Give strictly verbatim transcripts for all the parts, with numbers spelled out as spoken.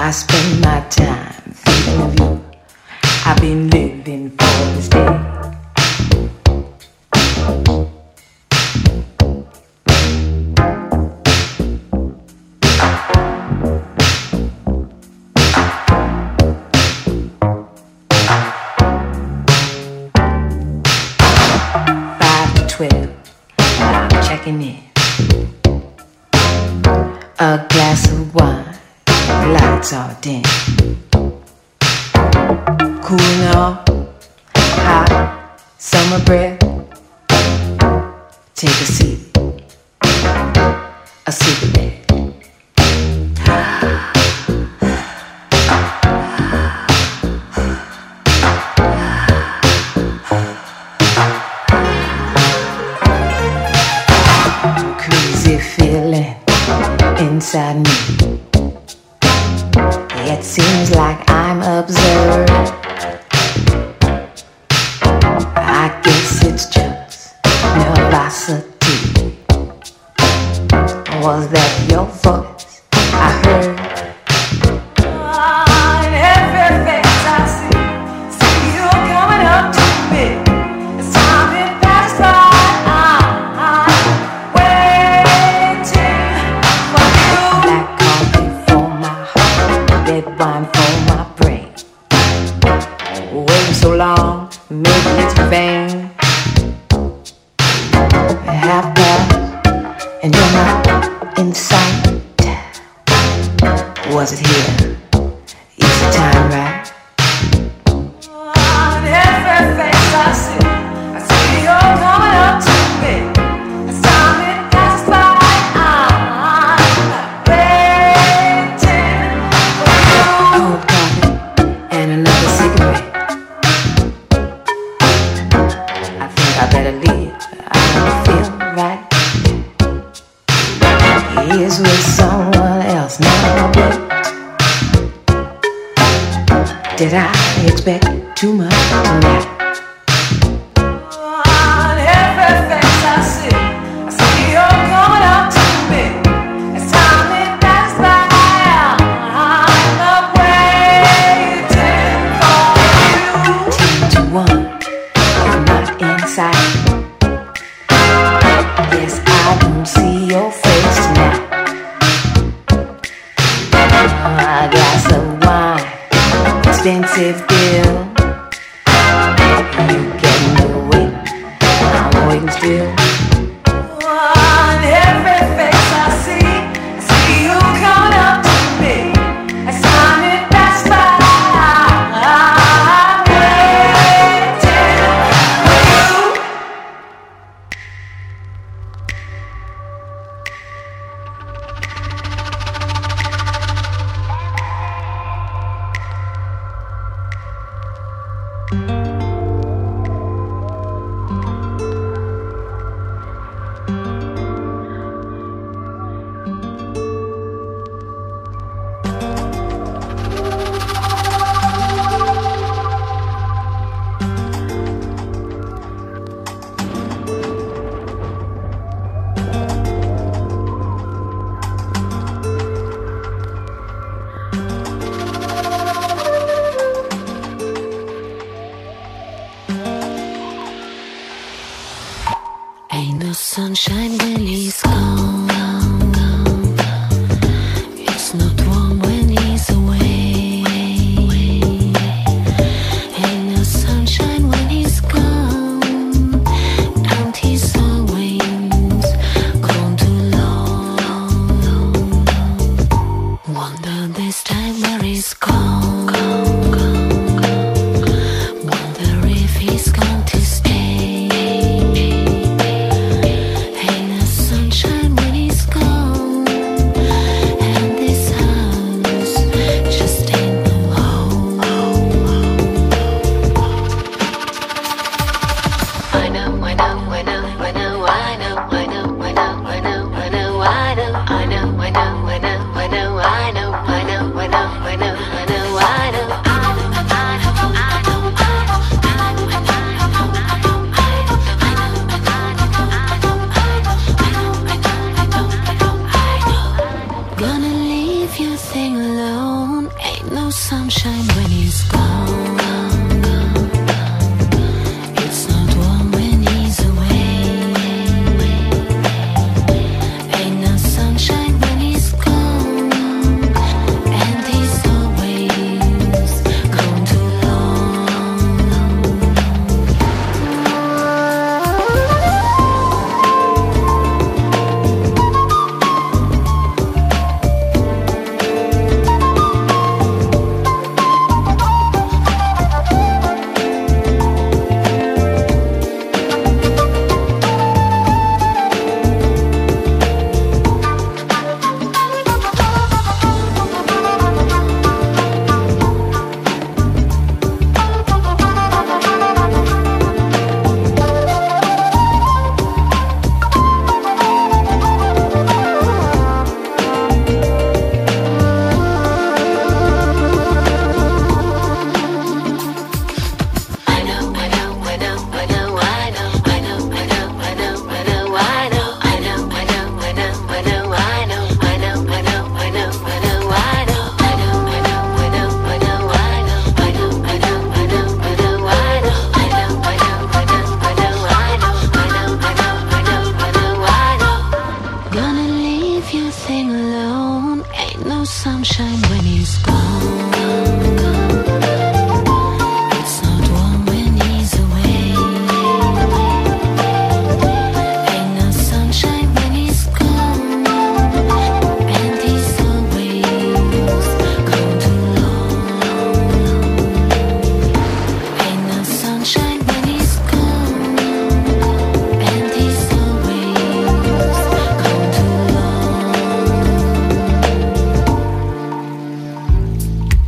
I spend my time thinking of you. I've been living for this day. Five to twelve, I'm checking in. A glass of wine, lights are dim. Cooling off, hot summer breath. Take a seat, a cigarette. Crazy feeling inside me. It seems like I'm observed. I guess it's just nervosity. Was that your voice I heard? Oh, in every face I see, see you coming up to me. It's time it passed by. I'm waiting for you. Black coffee for my heart, red wine for my brain. Waiting so long, maybe it's vain. Half past, and you're not in sight. Was it here? Is the time right? On every face I see, I see you're coming up to me. It's time it passed by. I'm waiting for you. Cold coffee and another cigarette. I think I better leave. I don't feel right. He is with someone else now, but did I expect too much tonight? On every face I see, I see you're coming up to me. It's time it passed by. I'm waiting for you. Ten to one, you're not inside. Yes, I don't see your face tonight. A glass of wine, expensive bill. You getting away, I'm waiting still. On every face I see, I see you coming up to me. It's time it passed by. I'm waiting for you. Ain't no sunshine when he's gone. It's not warm when he's away. Ain't no sunshine when he's gone. And he's always gone too long. Wonder this time where he's gone. Wonder if he's gone to stay. Ain't no sunshine when sunshine when he's gone. It's not warm when he's away. Ain't no sunshine when he's gone. And he's always gone too long. Ain't no sunshine when he's gone. And he's always gone too long.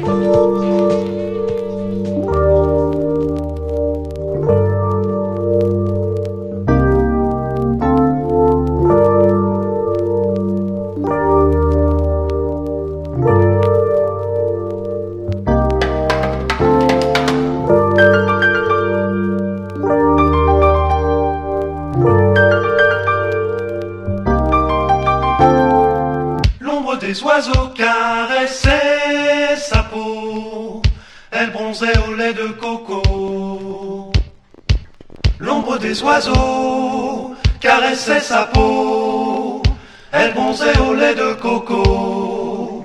Les oiseaux caressaient sa peau, elle bronzait au lait de coco. L'ombre des oiseaux caressait sa peau, elle bronzait au lait de coco.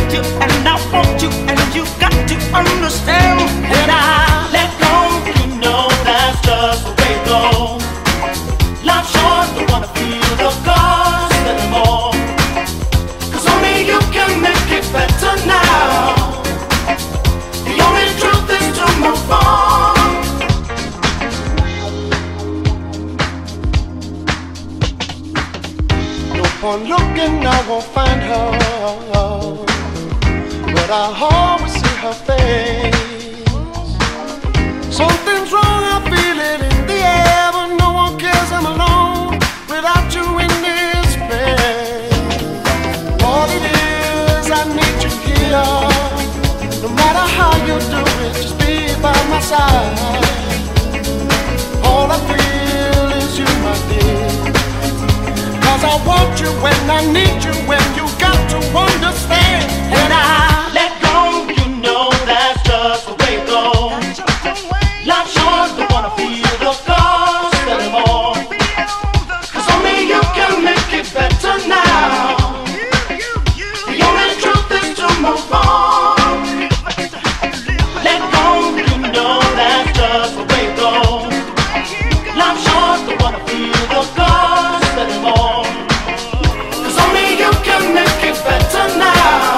need you and I want you, and you got to understand that I let go. You know that's just the way it goes. Life's short, don't wanna feel the cost anymore. 'Cause only you can make it better now. The only truth is to move on. No point looking, I won't find her, but I always see her face. Something's wrong, I feel it in the air, but no one cares I'm alone without you in this place. All it is, I need you here. No matter how you do it, just be by my side. All I feel is you, my dear. 'Cause I want you when I need you, when you got to understand that I let go. You know that's just the way it goes. Life's short, don't wanna feel the cost anymore. 'Cause only you can make it better now. The only truth is to move on. Let go. You know that's just the way it goes. Life's short, don't wanna feel the cost anymore. 'Cause only you can make it better now.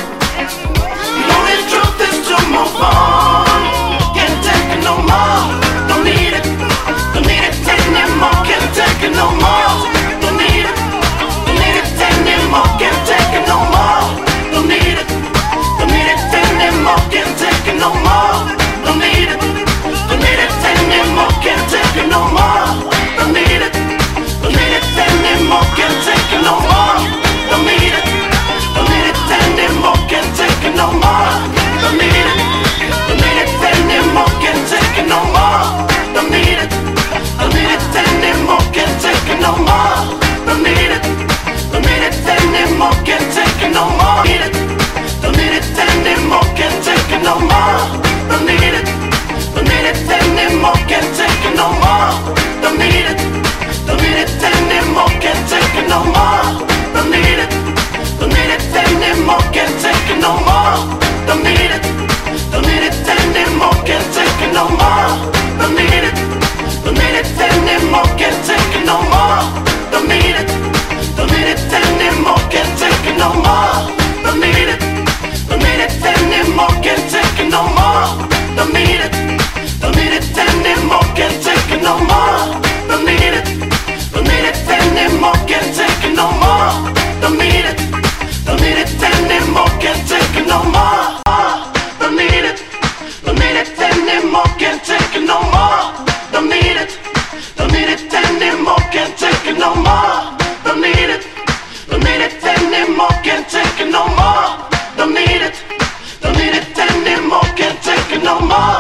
The only truth is to move on. Can't take it no more. Don't need it. Don't need it anymore. Can't take it no more. Don't need it. Don't need it anymore. Can't take it no more. Don't need it. Don't need it anymore. Can't take it no more. Don't need it. Don't need it anymore. Can't take it no more. Don't need it. Don't need it anymore. Can't take it no more. Don't need it. Don't need it anymore. Can't take it no more. Don't need it. Don't need it anymore. Can't take it no more. Don't need it. Don't need it anymore. Can't take it no more. Don't need it. Don't need it anymore. Can't take it no more. Need it. Don't need it anymore. Can't take it no more. Don't need it. Don't need it anymore. Can't take it no more. Don't need it. Don't need it anymore. Can't take it no more. Don't need it. Don't need it anymore. Can't take it no more. Don't need it. Don't need it anymore. Can't take it no more. Don't need it. Don't need it anymore. Can't take it no more. Don't need it. Don't need it anymore. Can't take it no more. Don't need it. Don't need it anymore. Can't take it no more. Don't need it. Don't need it anymore. Can't take it no more. Don't need it. Don't need it anymore. Can't take it no more. Don't need it. Don't need it anymore. Can't take it no more. Don't need it. Don't need it anymore. Can't take it no more. Don't need it. Don't need it anymore. Can't take it no more. Don't need it. Don't need it anymore. Can't take it no more. Don't need it. Don't need it anymore. Can't take it no more.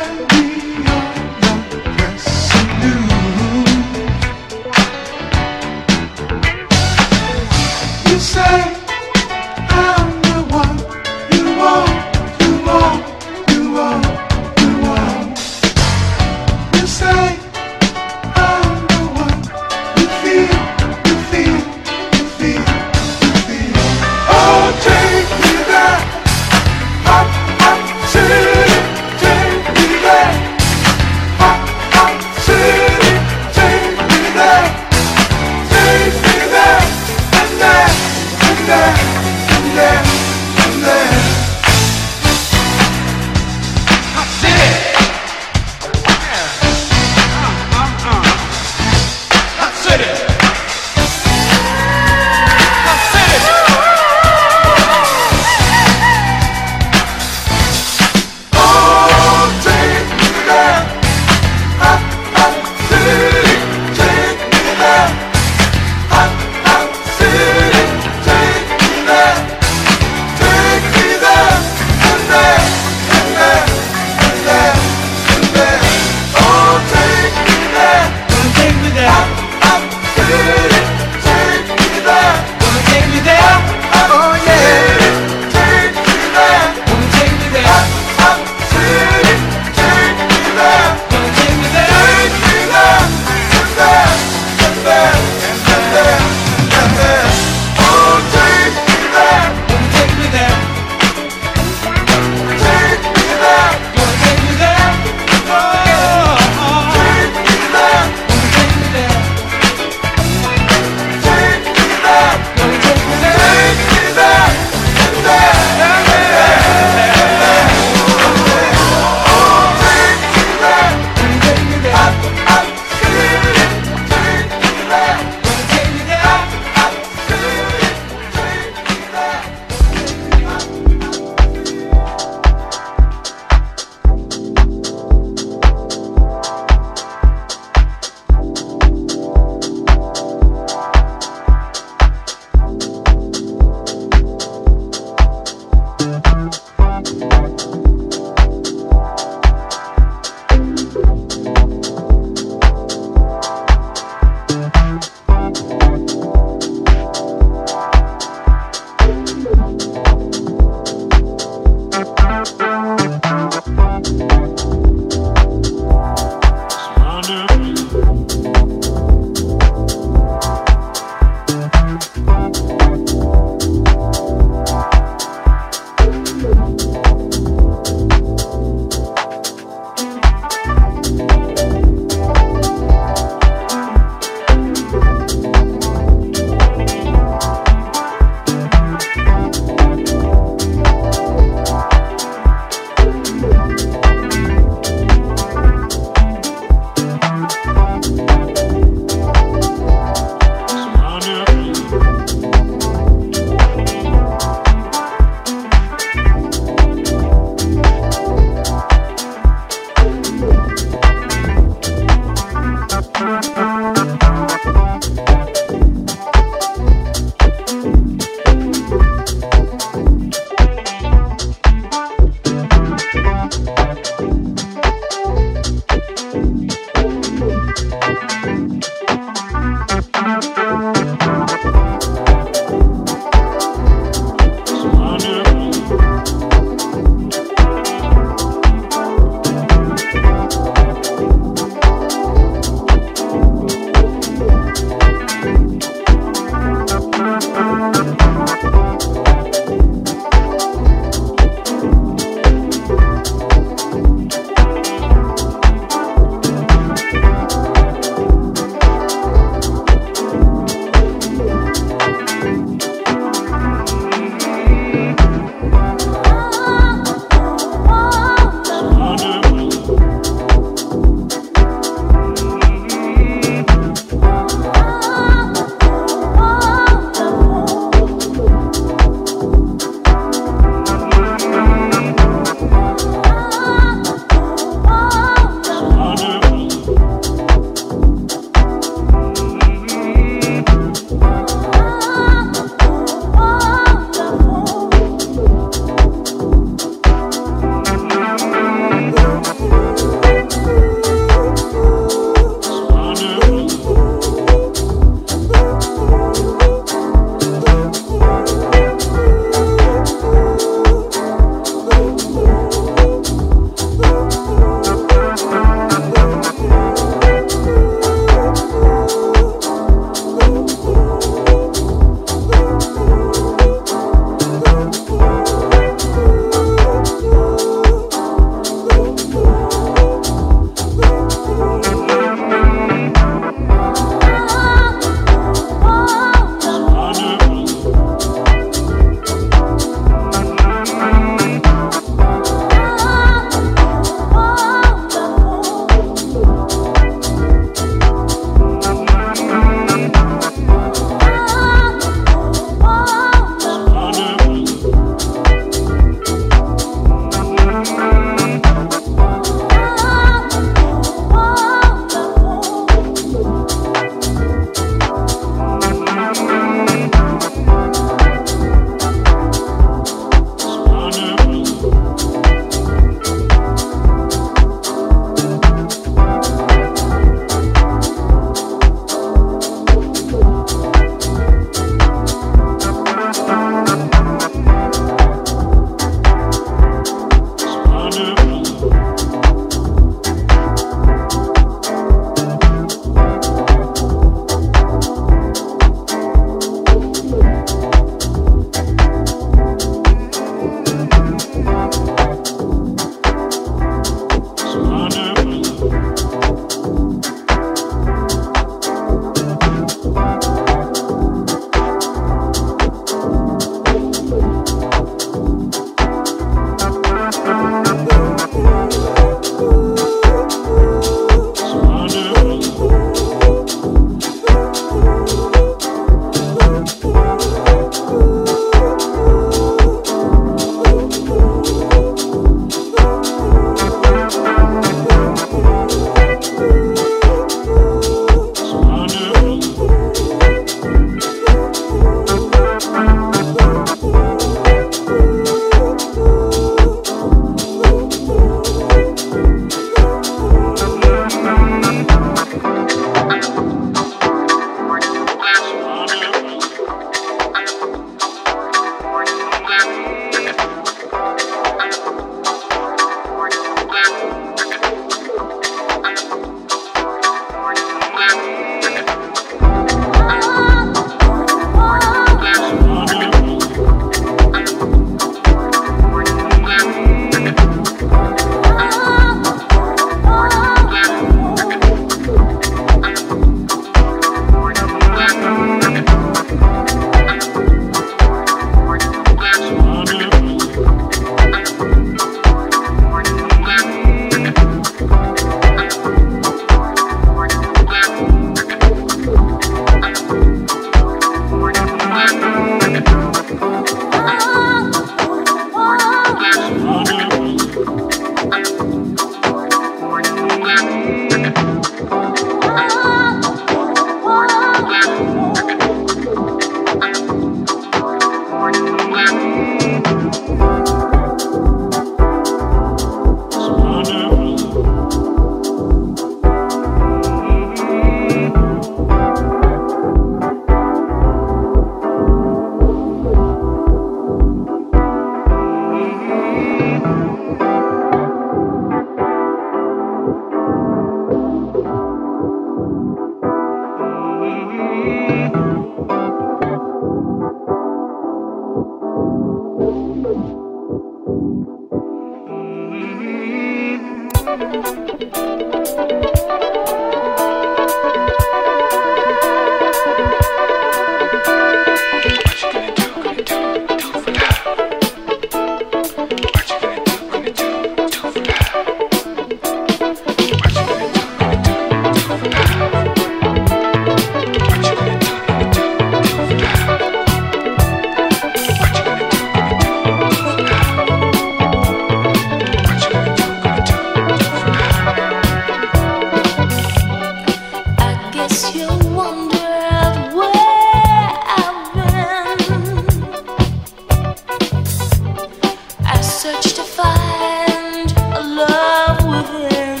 search to find a love within.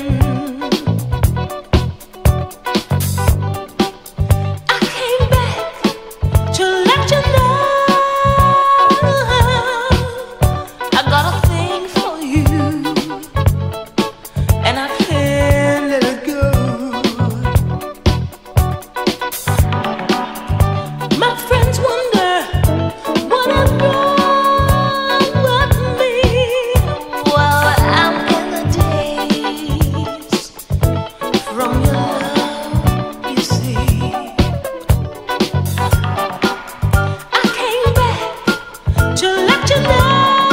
I came back to let you know I got a thing for you, and I can't let it go. My friends wonder what I've done with me. Well, I'm in the days from your love, you see. I came back to let you know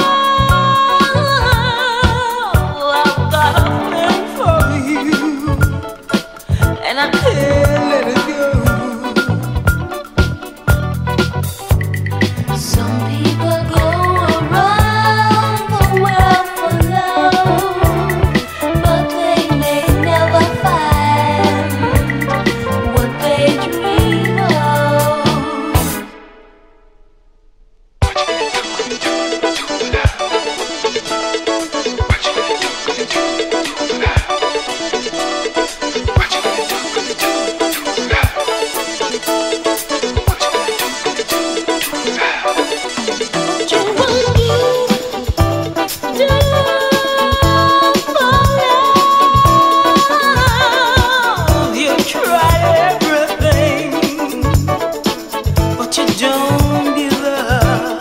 I've got a thing for you, and I can't let it go. Some people go around the world for love, but they may never find what they dream of. What you want to do for love? You tried everything, but you don't give up.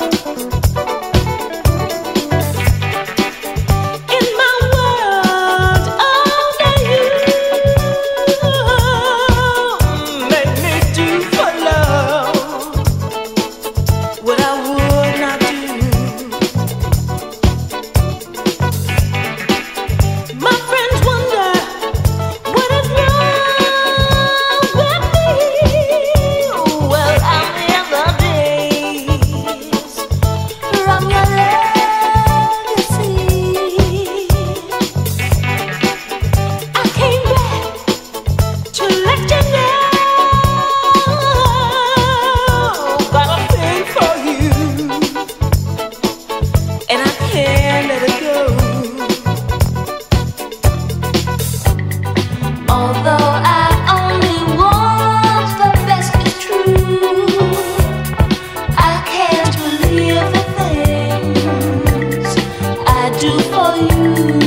In my world, only you make me do for love what I would not do. My friends wonder what is wrong with me. Well, I'm in the days from your legacy. I came back to let you know got a thing for you, and I can't let it go. Although I only want the best, it's true. I can't believe the things I do for you.